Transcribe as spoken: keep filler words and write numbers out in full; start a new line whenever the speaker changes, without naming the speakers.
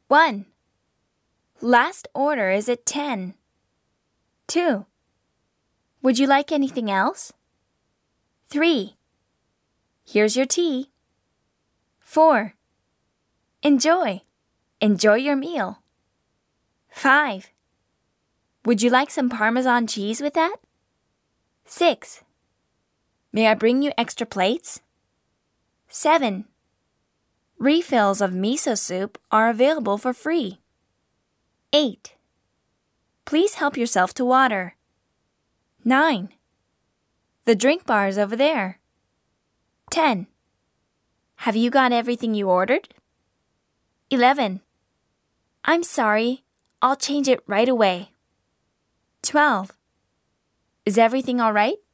one. Last order is at ten. two. Would you like anything else? three. Here's your tea. four. Enjoy. Enjoy your meal. five. Would you like some Parmesan cheese with that? six. May I bring you extra plates? seven. Refills of miso soup are available for free. eight. Please help yourself to water. nine. The drink bar is over there. ten. Have you got everything you ordered? eleven. I'm sorry, I'll change it right away. twelve. Is everything all right?